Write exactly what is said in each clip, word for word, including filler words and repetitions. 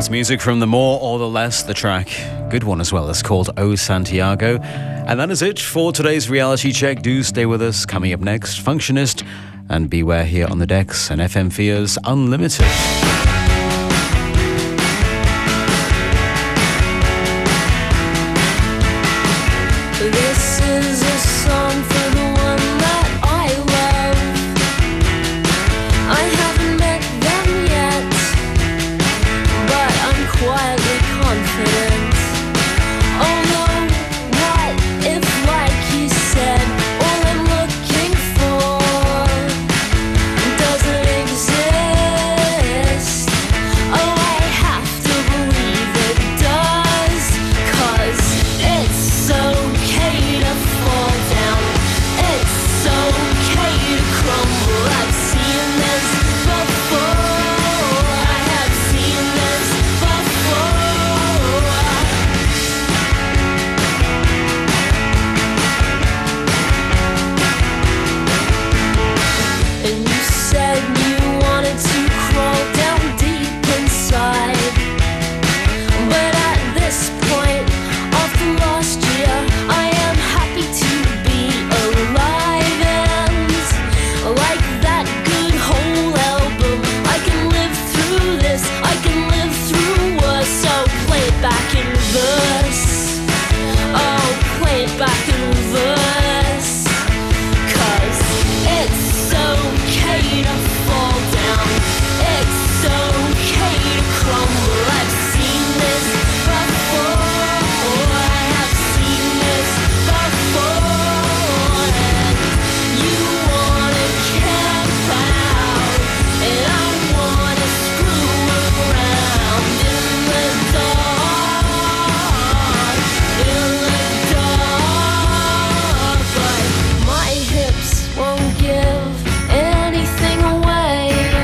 That's music from The More or the Less, the track. Good one as well. It's called O Santiago. And that is it for today's reality check. Do stay with us. Coming up next, Functionist and Beware here on the decks and F M Fears Unlimited. This is a song for the one that I love. I haven't met them yet, but I'm quietly confident. Although, what if, like you said, all I'm looking for doesn't exist? Oh, I have to believe it does, 'cause it's so okay to fall down. It's okay to crumble. I've seen this before. I have seen this before. And you said you wanted to crawl down deep inside. But at this point of the last year, I am happy to be alive. And like that good whole album, I can live through this, I can live through worse. So play it back in reverse. Oh, play it back in reverse. 'Cause it's okay to fall down. It's okay to crumble. I've seen this before. I have seen this before. And you wanna camp out, and I wanna screw around in the dark, in the dark. But my hips won't give anything away.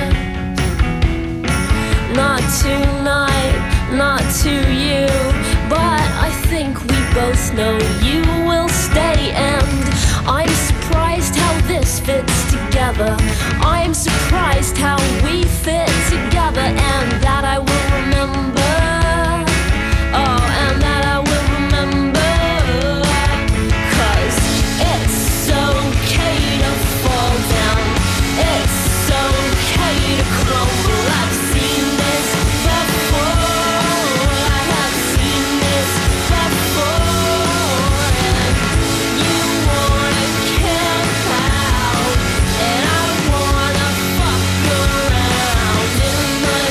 Not tonight, not to you. But I think we both know you will stay. And I'm surprised how this fits together. I'm surprised how we fit together. And that I will remember. Oh, and that I will remember. 'Cause it's okay to fall down. It's okay to crumble. I've seen this before. I have seen this before. And you wanna camp out, and I wanna fuck around in the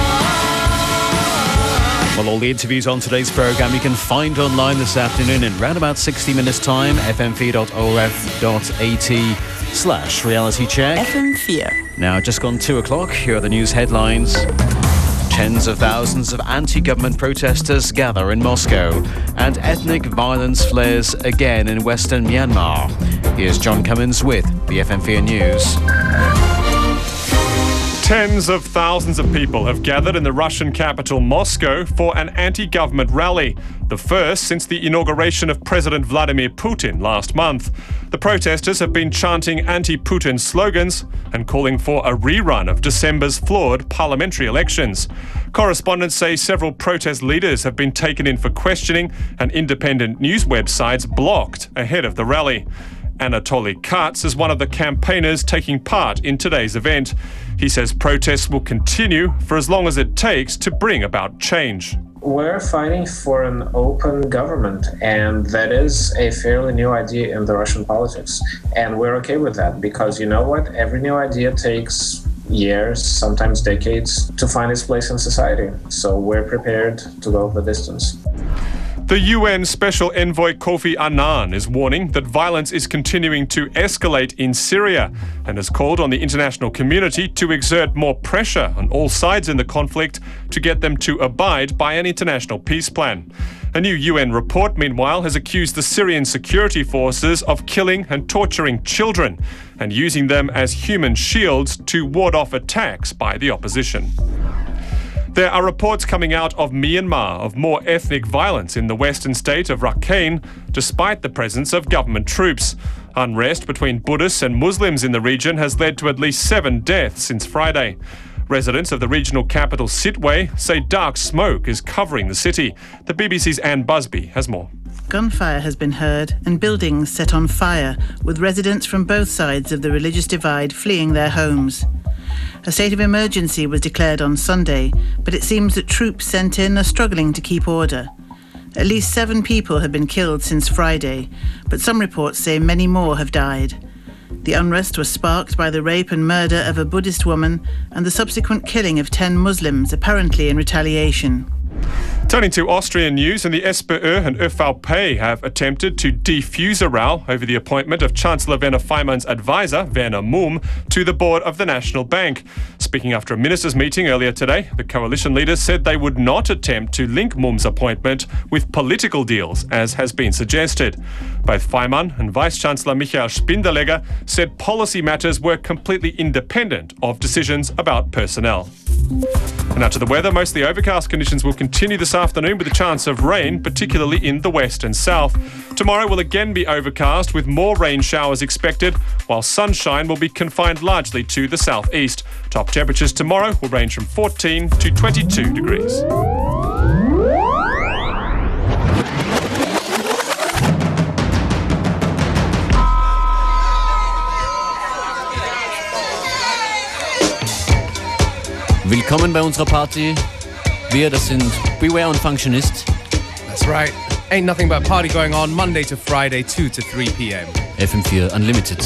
dark. Well, all the interviews on today's programme you can find online this afternoon in round about sixty minutes time. f m four dot o r f dot a t slash reality check. F M four. Now, just gone two o'clock, here are the news headlines. Tens of thousands of anti-government protesters gather in Moscow, and ethnic violence flares again in western Myanmar. Here's John Cummins with the F M four News. Tens of thousands of people have gathered in the Russian capital Moscow for an anti-government rally, the first since the inauguration of President Vladimir Putin last month. The protesters have been chanting anti-Putin slogans and calling for a rerun of December's flawed parliamentary elections. Correspondents say several protest leaders have been taken in for questioning and independent news websites blocked ahead of the rally. Anatoly Katz is one of the campaigners taking part in today's event. He says protests will continue for as long as it takes to bring about change. We're fighting for an open government, and that is a fairly new idea in the Russian politics. And we're okay with that because, you know what, every new idea takes years, sometimes decades, to find its place in society. So we're prepared to go the distance. The U N Special Envoy Kofi Annan is warning that violence is continuing to escalate in Syria and has called on the international community to exert more pressure on all sides in the conflict to get them to abide by an international peace plan. A new U N report, meanwhile, has accused the Syrian security forces of killing and torturing children and using them as human shields to ward off attacks by the opposition. There are reports coming out of Myanmar of more ethnic violence in the western state of Rakhine, despite the presence of government troops. Unrest between Buddhists and Muslims in the region has led to at least seven deaths since Friday. Residents of the regional capital Sitwe say dark smoke is covering the city. The B B C's Anne Busby has more. Gunfire has been heard and buildings set on fire, with residents from both sides of the religious divide fleeing their homes. A state of emergency was declared on Sunday, but it seems that troops sent in are struggling to keep order. At least seven people have been killed since Friday, but some reports say many more have died. The unrest was sparked by the rape and murder of a Buddhist woman and the subsequent killing of ten Muslims, apparently in retaliation. Turning to Austrian news, and the S P Ö and Ö V P have attempted to defuse a row over the appointment of Chancellor Werner Faymann's advisor, Werner Mumm, to the board of the National Bank. Speaking after a ministers' meeting earlier today, the coalition leaders said they would not attempt to link Mumm's appointment with political deals, as has been suggested. Both Faymann and Vice-Chancellor Michael Spindelegger said policy matters were completely independent of decisions about personnel. And now to the weather. Mostly overcast conditions will continue this afternoon with a chance of rain, particularly in the west and south. Tomorrow will again be overcast with more rain showers expected, while sunshine will be confined largely to the southeast. Top temperatures tomorrow will range from fourteen to twenty-two degrees. Willkommen bei unserer Party. Wir, das sind Beware und Functionist. That's right. Ain't nothing but party going on Monday to Friday, two to three p.m. F M four Unlimited.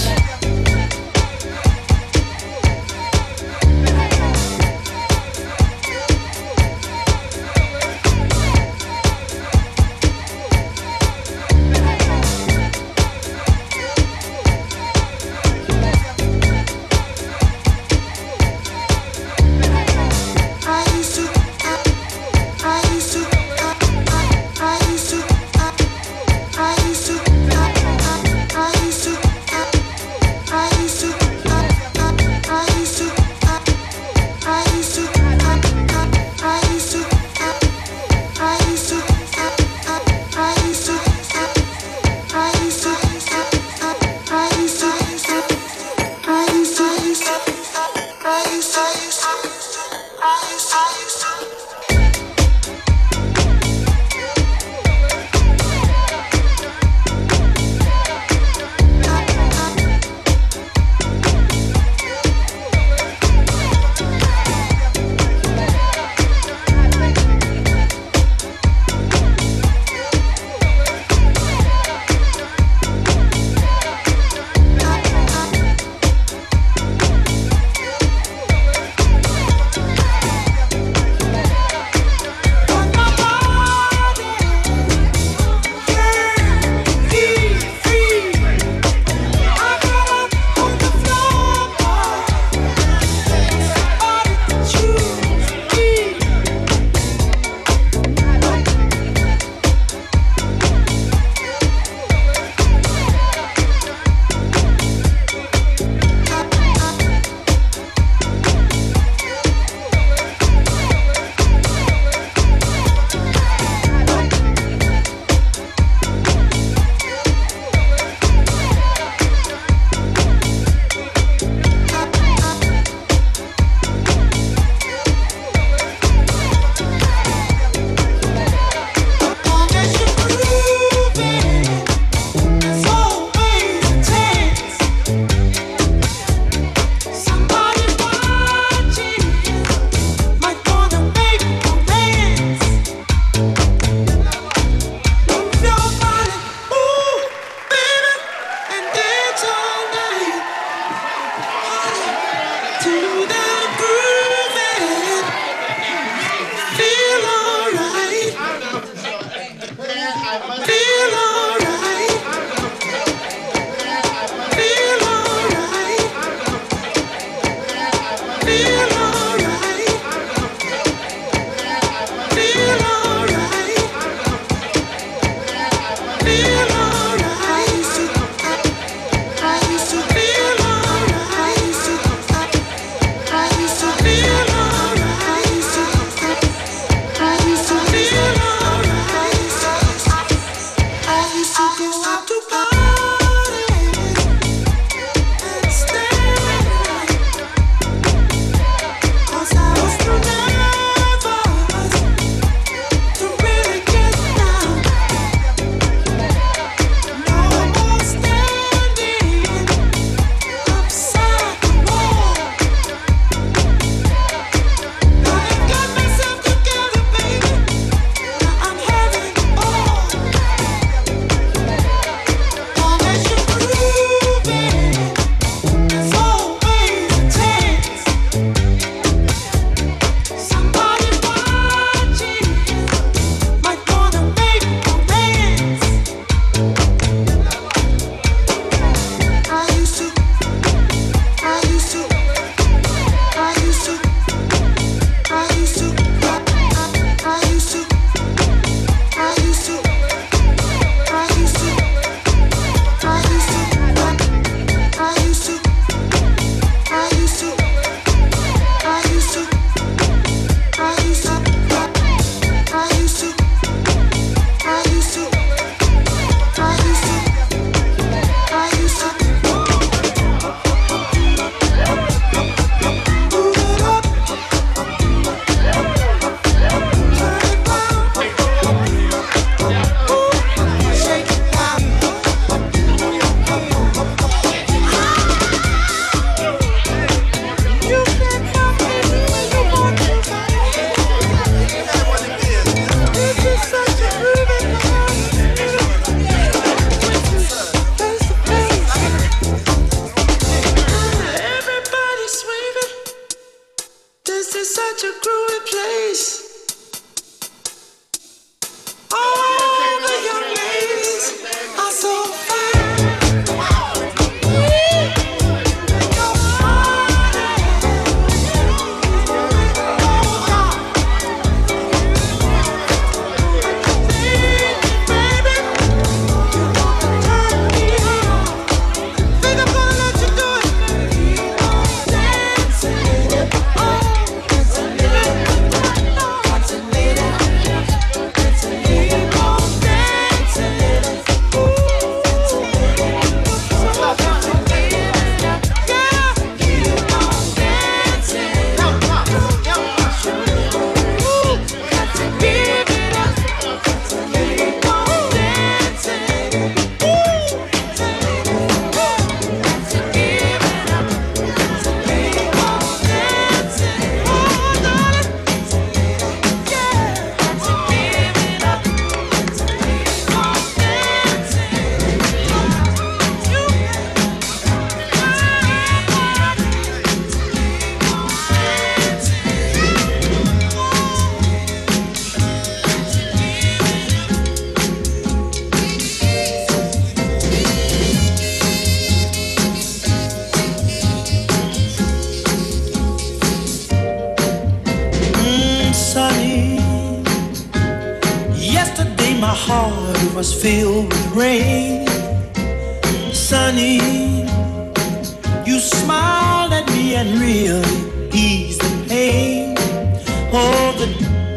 was filled with rain. Sunny, you smiled at me and really eased the pain. Oh, the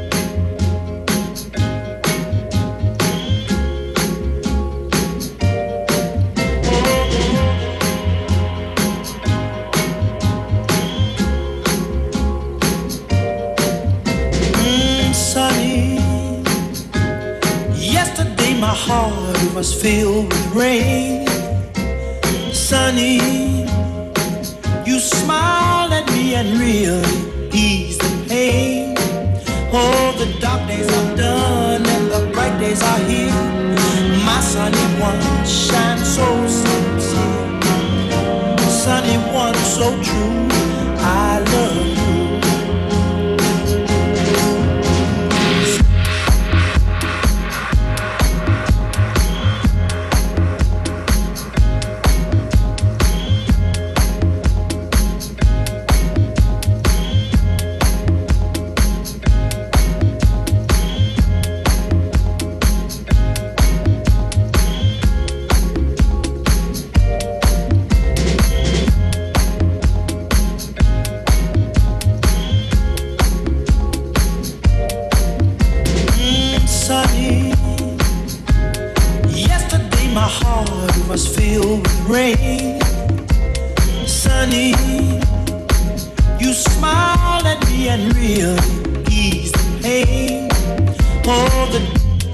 my heart was filled with rain. Sunny, you smiled at me and really eased the pain. Oh, the dark days are done and the bright days are here. My sunny one shines so sincere. Sunny one so true, I love you. Was filled with rain. Sunny, you smiled at me and really eased the pain. Oh, the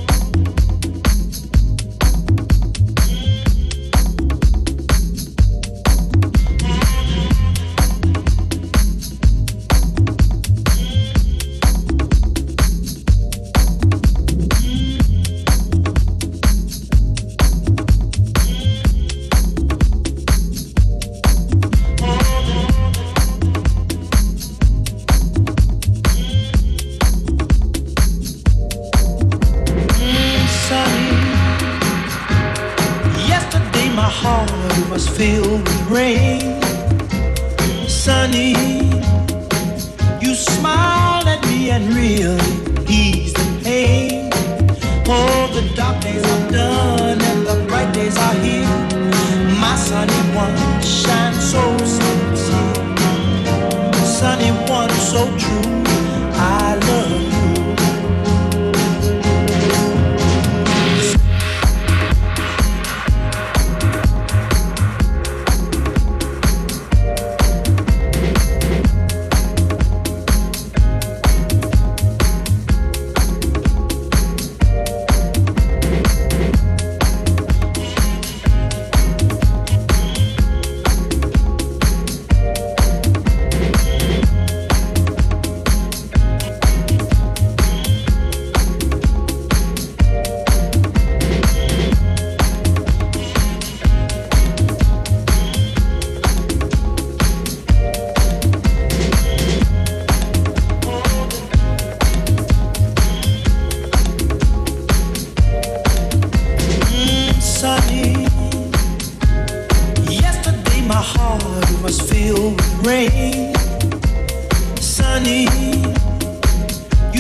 was filled with rain. Sunny, you smiled at me and really eased the pain. Oh, the dark days are done and the bright days are here. My sunny one shines so sincere. Sunny one so true, I love you.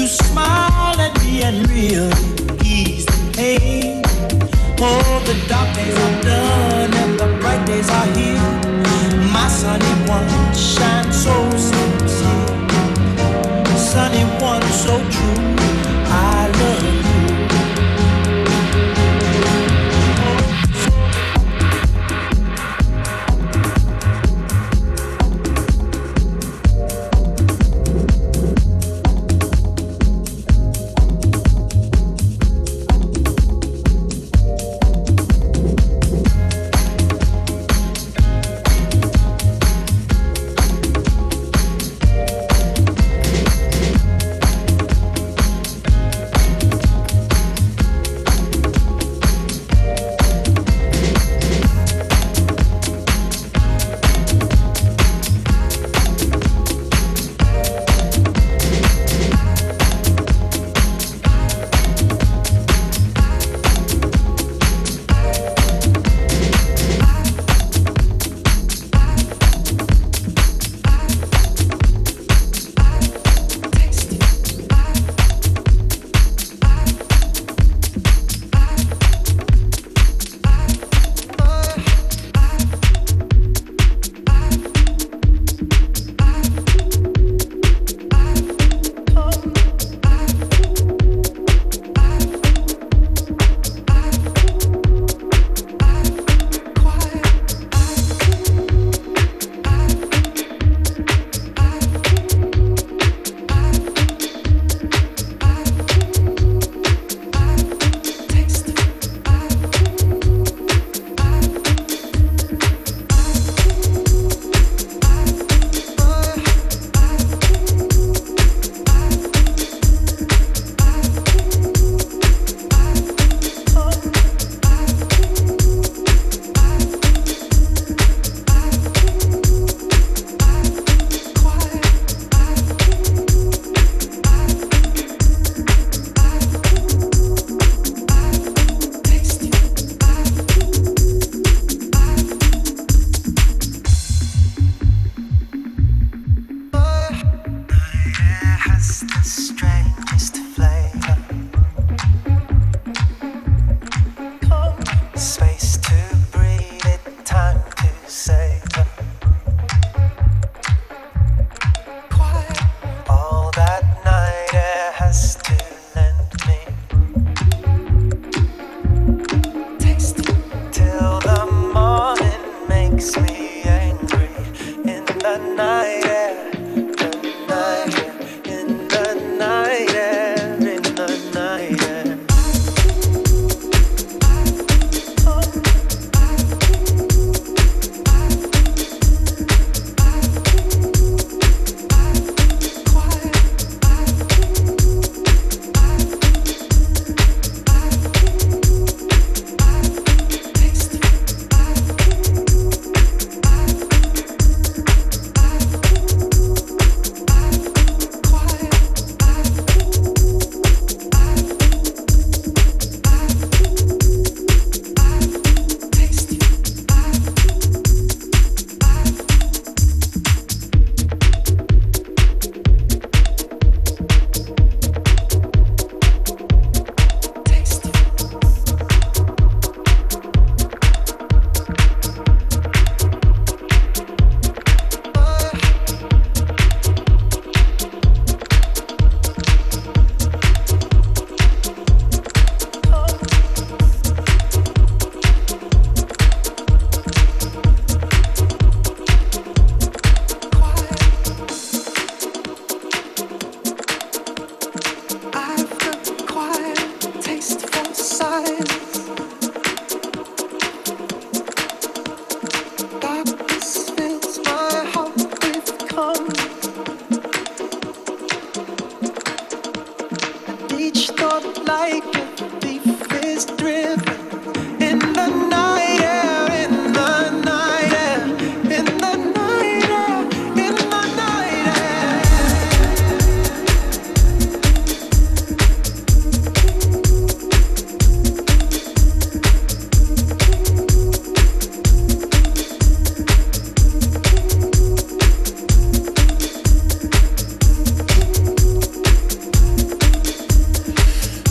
smile at me and really ease the pain. Oh, the dark days are done and the bright days are here. My sunny one shines so sincere, sunny one so true. I love you.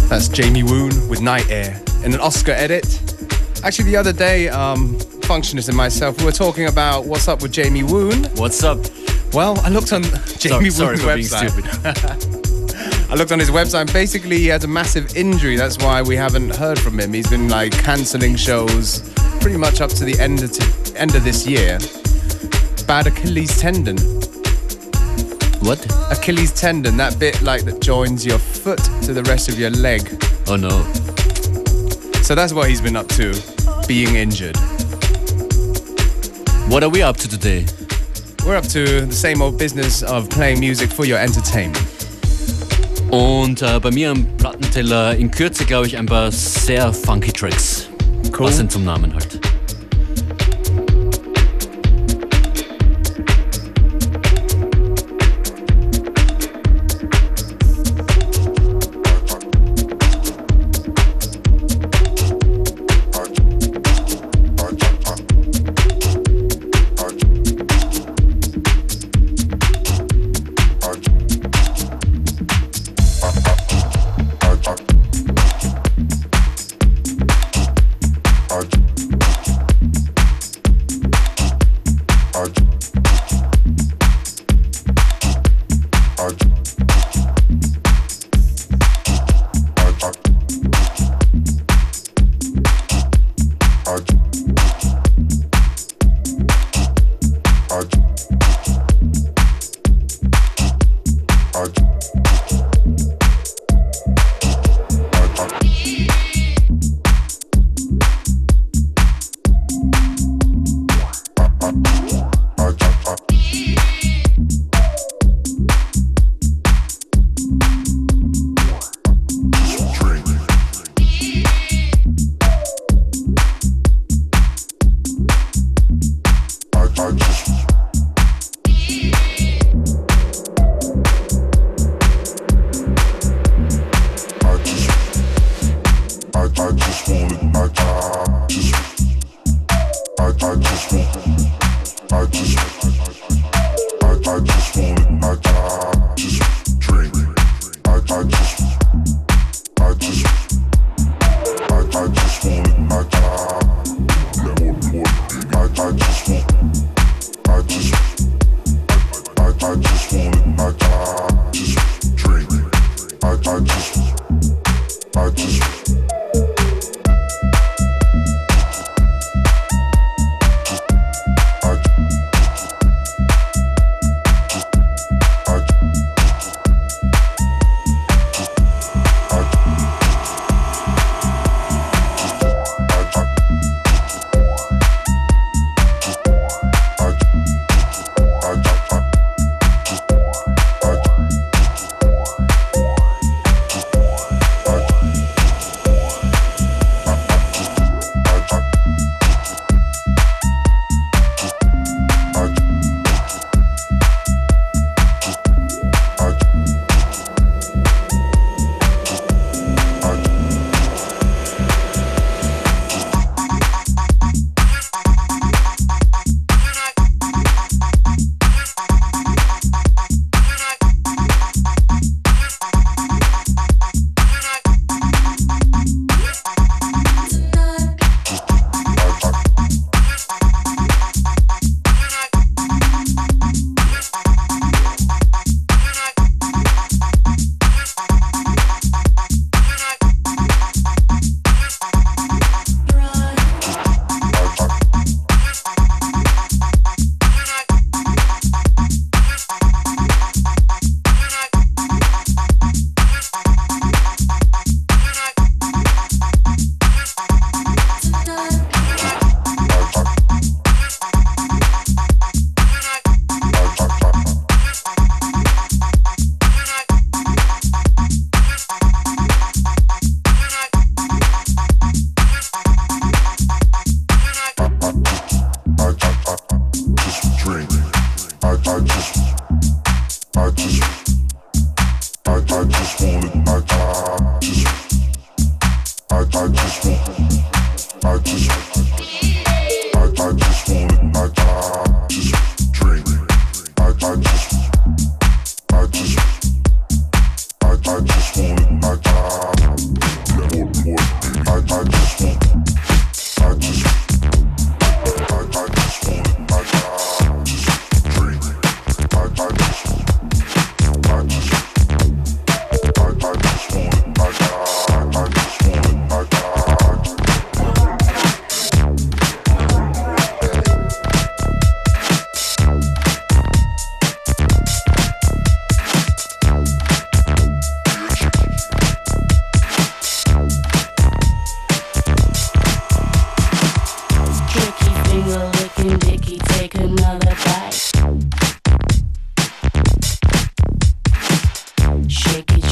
That's Jamie Woon with Night Air in an Oscar edit. Actually, the other day, um, Functionist and myself, we were talking about what's up with Jamie Woon. What's up? Well, I looked on Jamie sorry, Woon's sorry website. for being stupid. I looked on his website and basically he has a massive injury. That's why we haven't heard from him. He's been like cancelling shows pretty much up to the end of, t- end of this year. Bad Achilles tendon. What? Achilles tendon, that bit like that joins your foot to the rest of your leg. Oh no. So that's what he's been up to, being injured. What are we up to today? We're up to the same old business of playing music for your entertainment. Und äh, bei mir am Plattenteller in Kürze, glaube ich, ein paar sehr funky Tracks. Cool. Was sind zum Namen halt.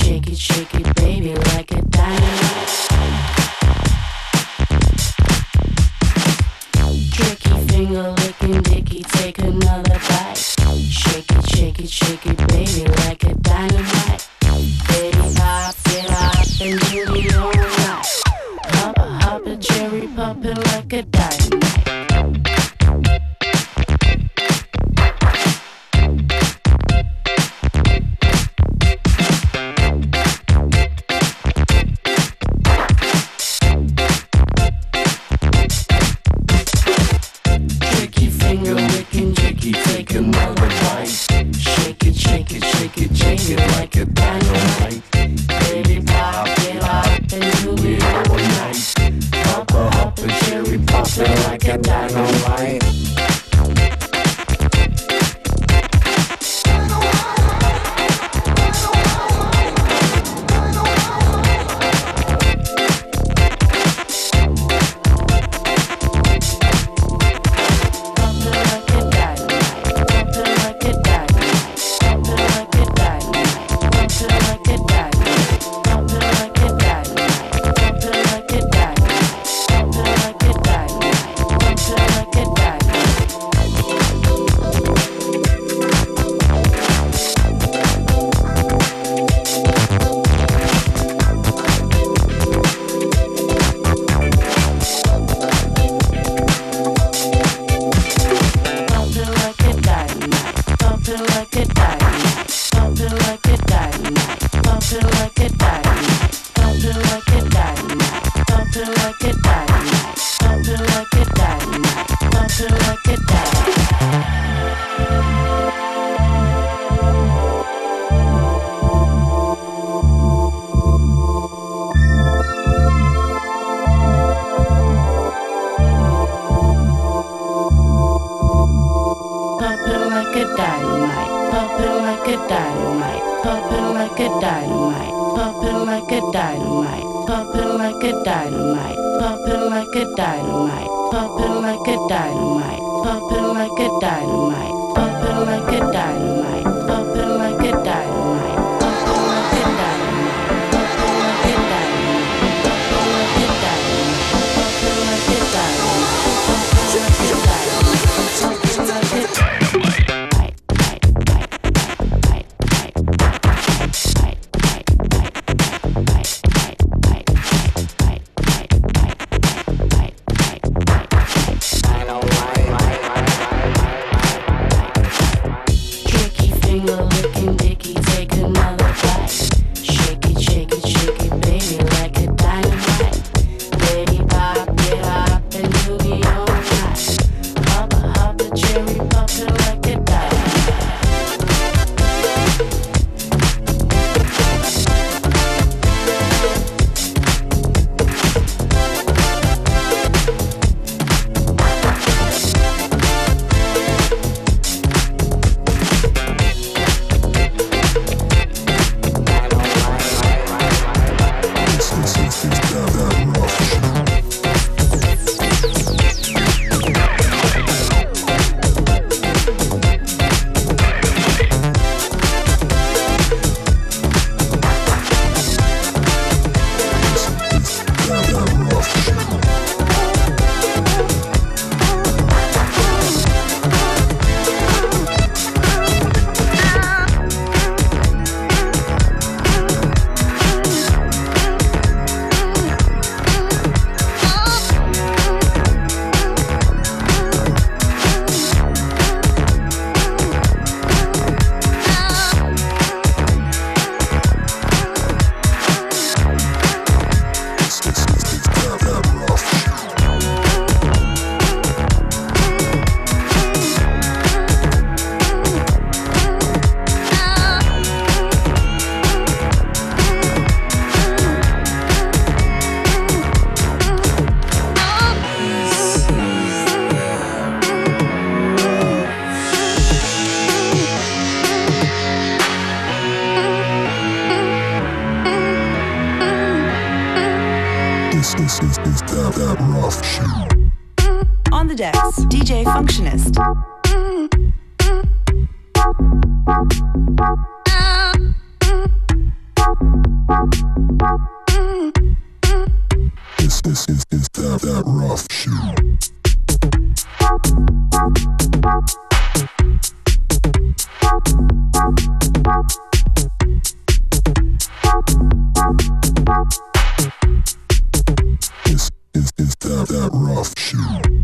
shake it, shake it, baby, like a dynamite. Tricky finger licking dicky, take another bite. Shake it, shake it, shake it, baby, like a dynamite. Baby, pop it up and do the all night. Hop, hop, a cherry poppin' like a dynamite. On the decks, D J Functionist. This, this is, is that, that rough shoe. This is, is that, that rough shoe.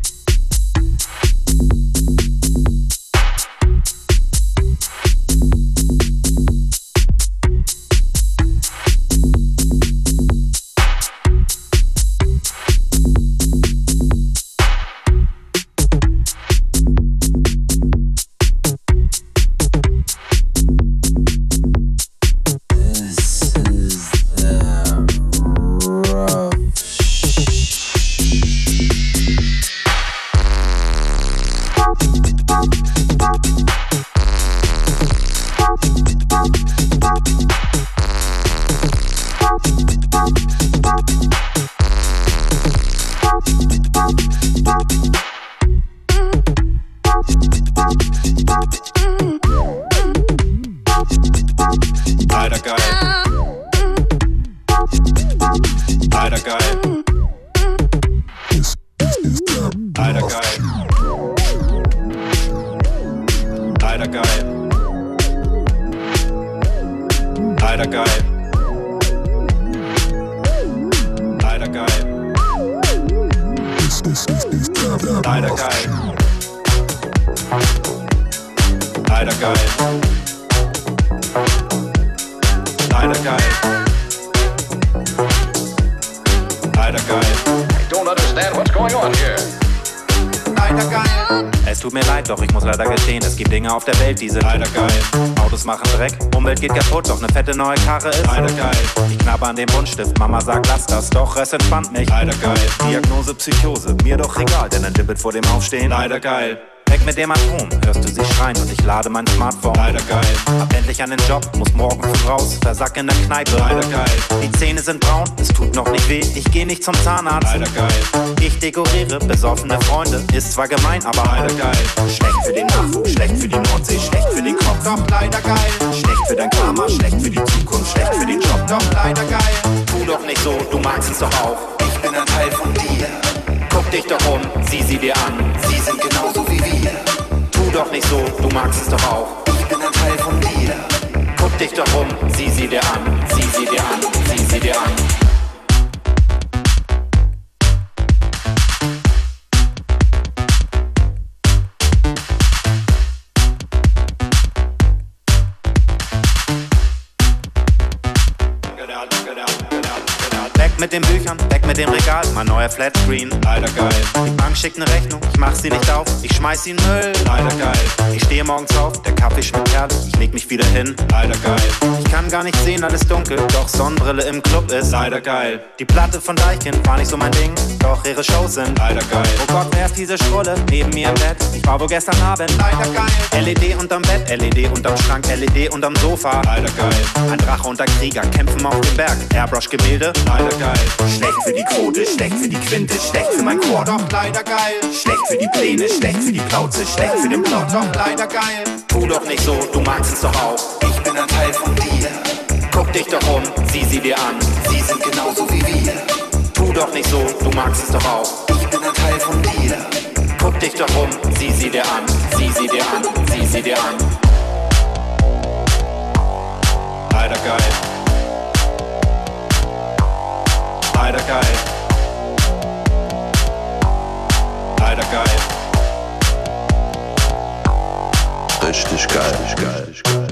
Auf der Welt, die sind leider geil. Autos machen Dreck, Umwelt geht kaputt, doch ne fette neue Karre ist leider geil. Ich knabber an dem Buntstift, Mama sagt lass das, doch es entspannt mich. Leider geil. Diagnose Psychose, mir doch egal, denn ein Dippet vor dem Aufstehen. Leider geil. Weg mit dem Atom, hörst du sie schreien und ich lade mein Smartphone. Leider geil. Hab endlich einen Job, muss morgen früh raus, versack in der Kneipe. Leider geil. Die Zähne sind braun, es tut noch nicht weh, ich geh nicht zum Zahnarzt. Leider geil. Ich dekoriere besoffene Freunde, ist zwar gemein, aber leider geil. Schlecht für den Nachwuchs, schlecht für die Nordsee, schlecht für den Kopf, doch leider geil. Schlecht für dein Karma, schlecht für die Zukunft, schlecht für den Job, doch leider geil. Tu doch nicht so, du magst es doch auch. Ich bin ein Teil von dir. Guck dich doch um, sieh sie dir an, sie sind genauso wie wir. Tu doch nicht so, du magst es doch auch. Ich bin ein Teil von dir. Guck dich doch um, sieh sie dir an, sieh sie dir an, sieh sie dir an. Mit den Büchern, weg mit dem Regal, mein neuer Flatscreen, leider geil. Die Bank schickt ne Rechnung, ich mach sie nicht auf, ich schmeiß sie in Müll, leider geil. Ich stehe morgens auf, der Kaffee schmeckt herrlich, ich leg mich wieder hin, leider geil. Ich kann gar nicht sehen, alles dunkel, doch Sonnenbrille im Club ist, leider geil. Die Platte von Deichkind war nicht so mein Ding, doch ihre Shows sind, leider geil. Oh Gott, wer ist diese Schrulle neben mir im Bett? Ich war wohl gestern Abend, leider geil. L E D unterm Bett, L E D unterm Schrank, L E D unterm Sofa, leider geil. Ein Drache und ein Krieger kämpfen auf dem Berg, Airbrush-Gemälde, leider geil. Schlecht für die Quote, schlecht für die Quinte, schlecht für mein Chor, doch leider geil. Schlecht für die Pläne, schlecht für die Plauze, schlecht für den Plot, doch leider geil. Tu doch nicht so, du magst es doch auch. Ich bin ein Teil von dir. Guck dich doch um, sieh sie dir an, sie sind genauso wie wir. Tu doch nicht so, du magst es doch auch. Ich bin ein Teil von dir. Guck dich doch um, sieh sie dir an, sieh sie dir an, sieh sie dir an. Leider geil. Leider geil. Leider geil. Richtig geil. Richtig geil. Richtig geil.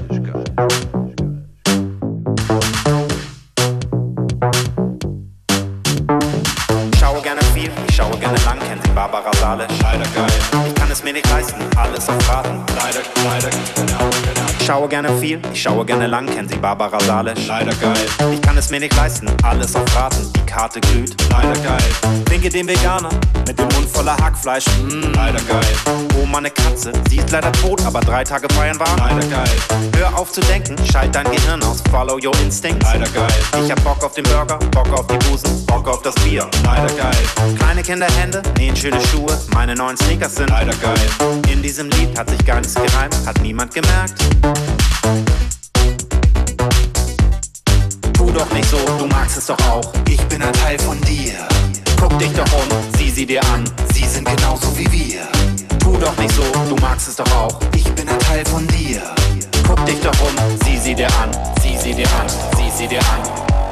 Ich schaue gerne viel, ich schaue gerne lang, kennen Sie Barbara Salisch? Leider geil. Ich kann es mir nicht leisten, alles auf Raten. Leider, leider, genau, genau. Ich schaue gerne viel, ich schaue gerne lang, kennen Sie Barbara Salisch? Leider geil. Ich kann es mir nicht leisten, alles auf Raten. Die Karte glüht, leider geil. Winke dem Veganer mit dem Mund voller Hackfleisch, mmm, leider geil. Oh, meine Katze, sie ist leider tot, aber drei Tage feiern war, leider geil. Hör auf zu denken, schalt dein Gehirn aus, follow your instincts, leider geil. Ich hab Bock auf den Burger, Bock auf die Busen, Bock auf das Bier, leider geil. Kleine Kinderhände nähen schöne Schuhe, meine neuen Sneakers sind, leider geil. In diesem Lied hat sich gar nichts gereimt, hat niemand gemerkt. Tu Tu doch nicht so, du magst es doch auch. Ich bin ein Teil von dir. Guck dich doch um, sieh sie dir an. Sie sind genauso wie wir. Tu doch nicht so, du magst es doch auch. Ich bin ein Teil von dir. Guck dich doch um, sieh sie dir an. Sieh sie dir an, sieh sie dir an.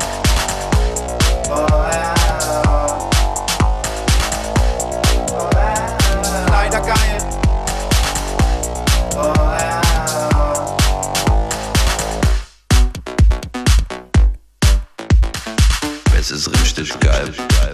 Leider geil. Es ist richtig geil.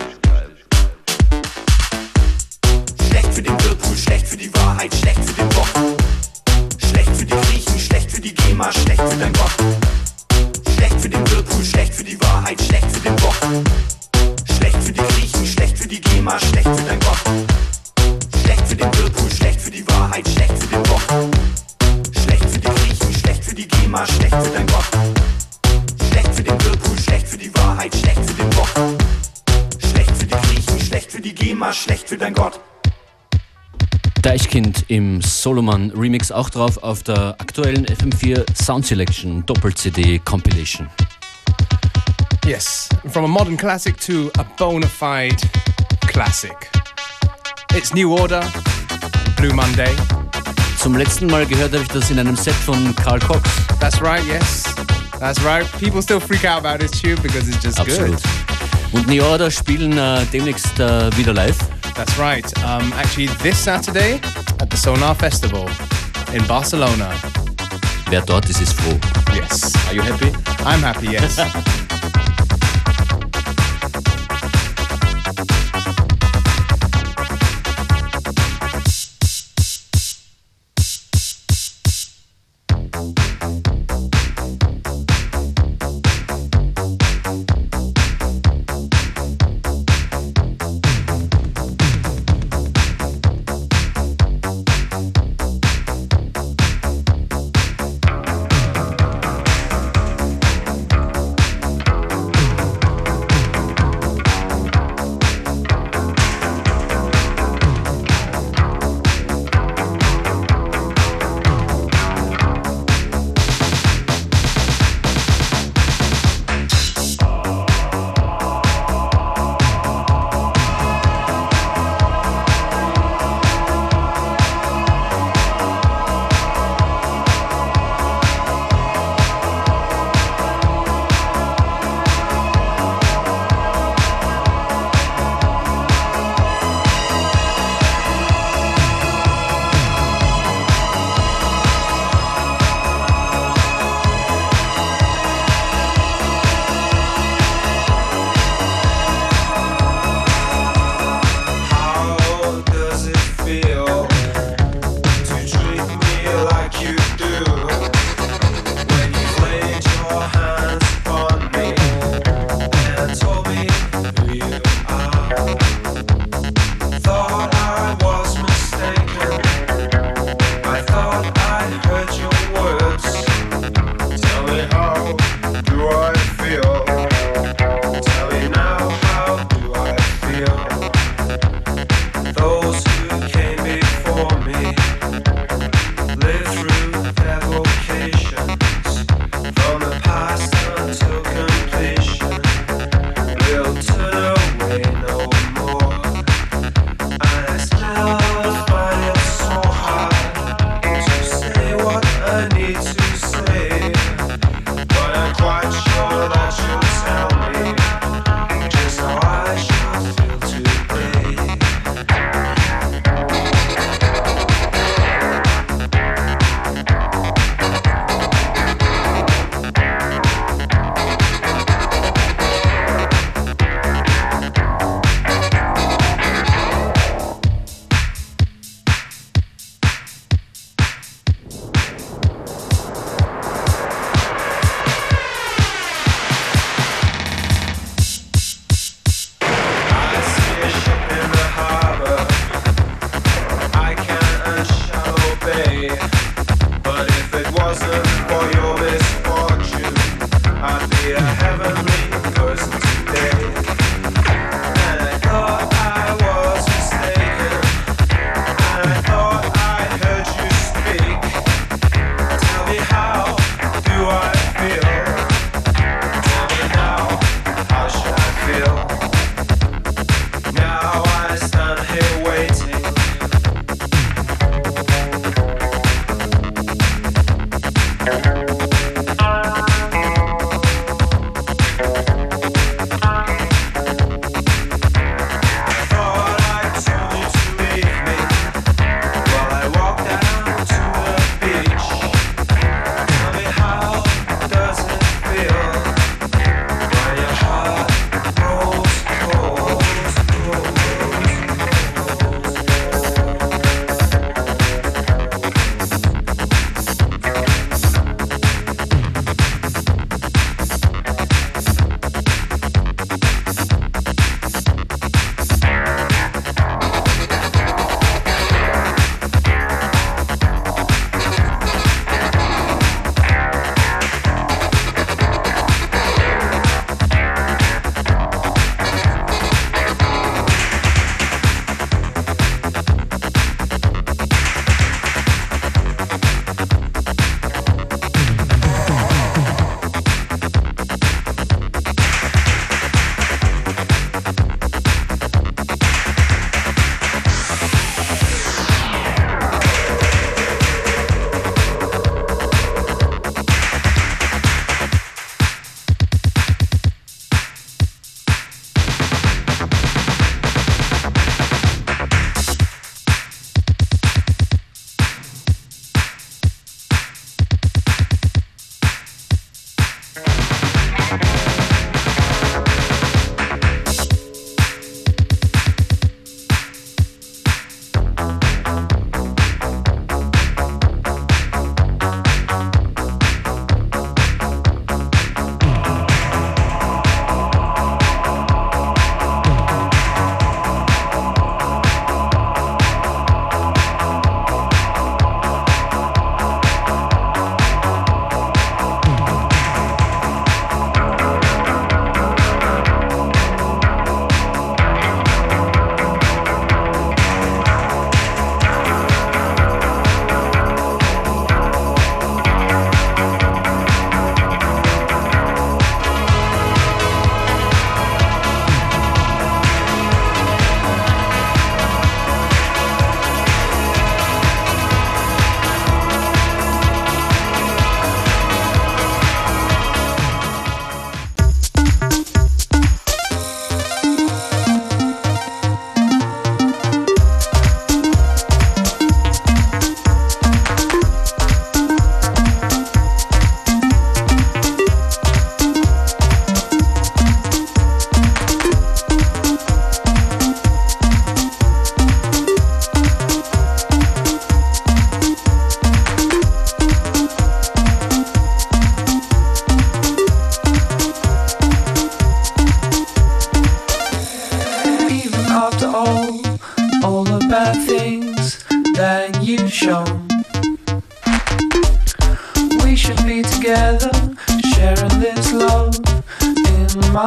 Schlecht für den Whirlpool, schlecht für die Wahrheit, schlecht für den Bock. Schlecht für die Griechen, schlecht für die GEMA, schlecht für dein Gott. Schlecht für den Whirlpool, schlecht für die Wahrheit, schlecht für den Bock. Schlecht für die Griechen, schlecht für die GEMA, schlecht für dein Gott. Schlecht für den Whirlpool, schlecht für die Wahrheit, schlecht für den Bock. Schlecht für die Griechen, schlecht für die GEMA, schlecht für dein Gott. Schlecht für den Whirlpool, schlecht für die Wahrheit, schlecht für den Bock. Schlecht für die Griechen, schlecht für die GEMA, schlecht für dein Gott. Deichkind im Solomon Remix auch drauf auf der aktuellen F M vier Sound Selection Doppel-C D Compilation. Yes, from a modern classic to a bona fide classic. It's New Order, Blue Monday. Zum letzten Mal gehört habe ich das in einem Set von Carl Cox. That's right, yes. That's right. People still freak out about this tune because it's just Absolut. good. Und New Order spielen äh, demnächst äh, wieder live. That's right. Um, actually, this Saturday at the Sonar Festival in Barcelona. Wer dort ist, ist froh. Yes. Are you happy? I'm happy, yes.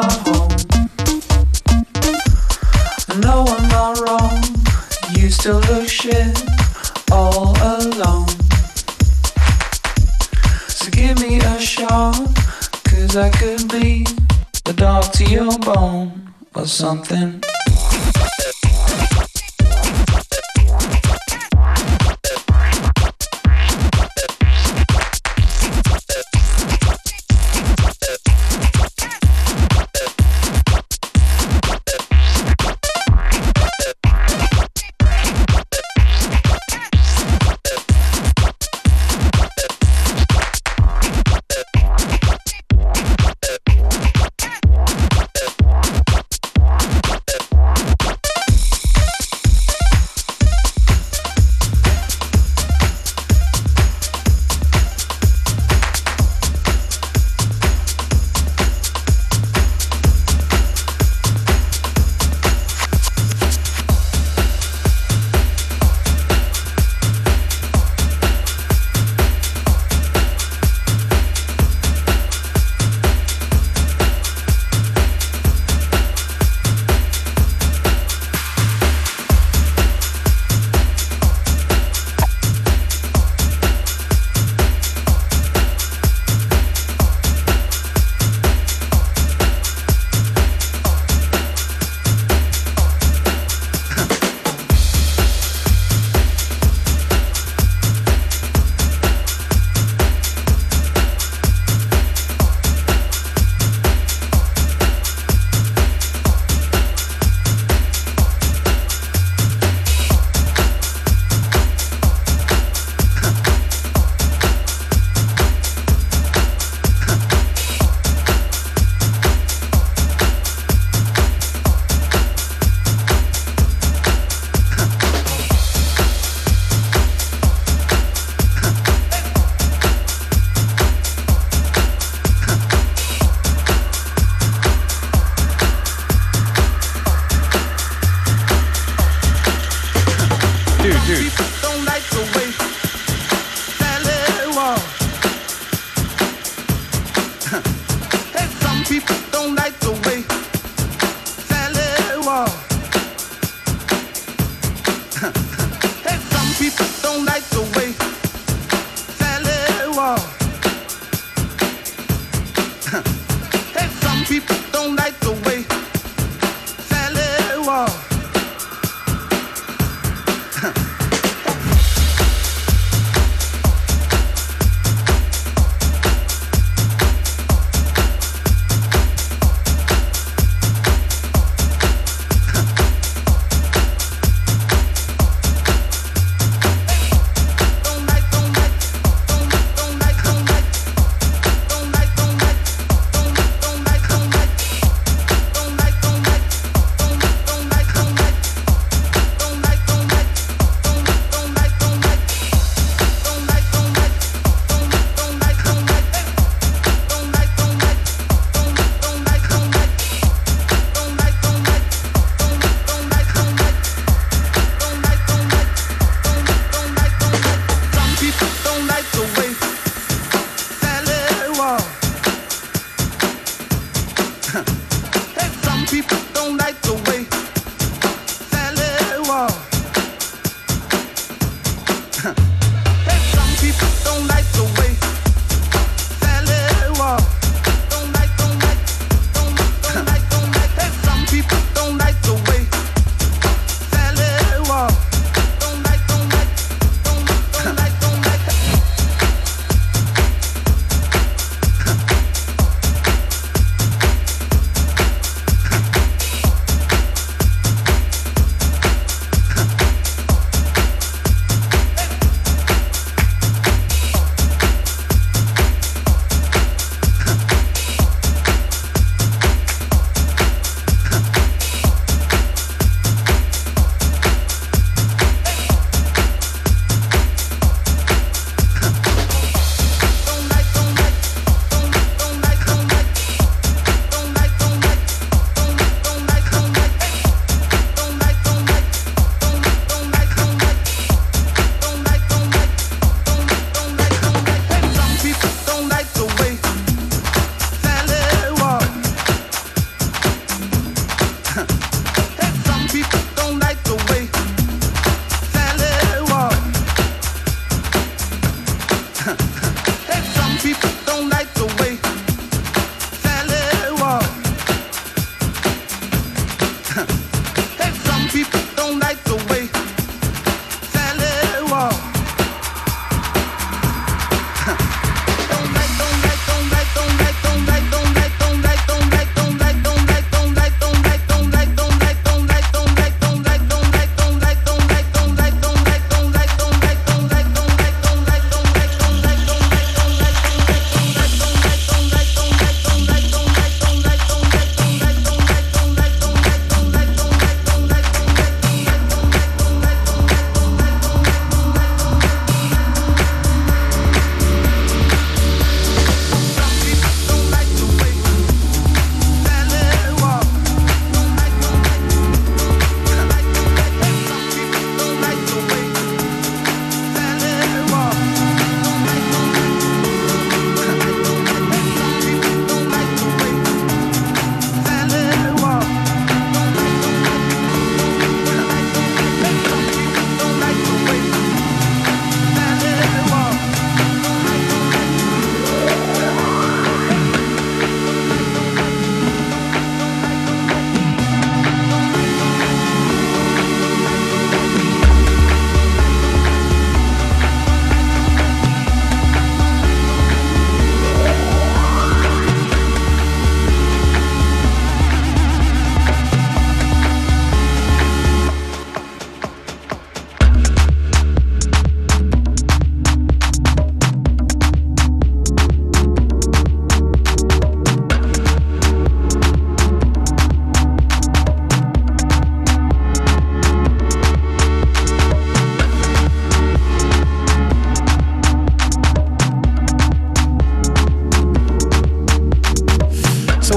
home. No, I'm not wrong. You still look shit all alone. So give me a shot, cause I could be the dog to your bone or something.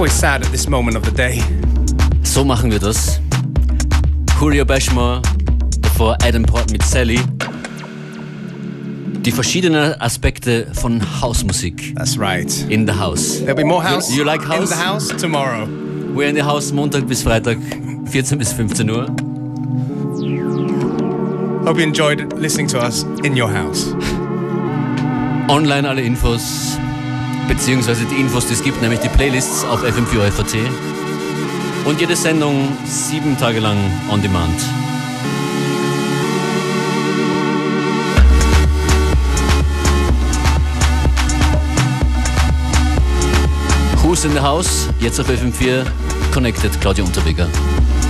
always sad at this moment of the day. So machen wir das. Julio Bashmore, davor Adam Port mit Sally. Die verschiedenen Aspekte von Hausmusik. That's right. In the house. There'll be more house, you, you like house? In the house tomorrow. We're in the house Montag bis Freitag, vierzehn bis fünfzehn Uhr. Hope you enjoyed listening to us in your house. Online alle Infos, beziehungsweise die Infos, die es gibt, nämlich die Playlists auf F M vier F A T. Und jede Sendung sieben Tage lang on demand. Who's in the House? Jetzt auf F M vier. Connected, Claudia Unterweger.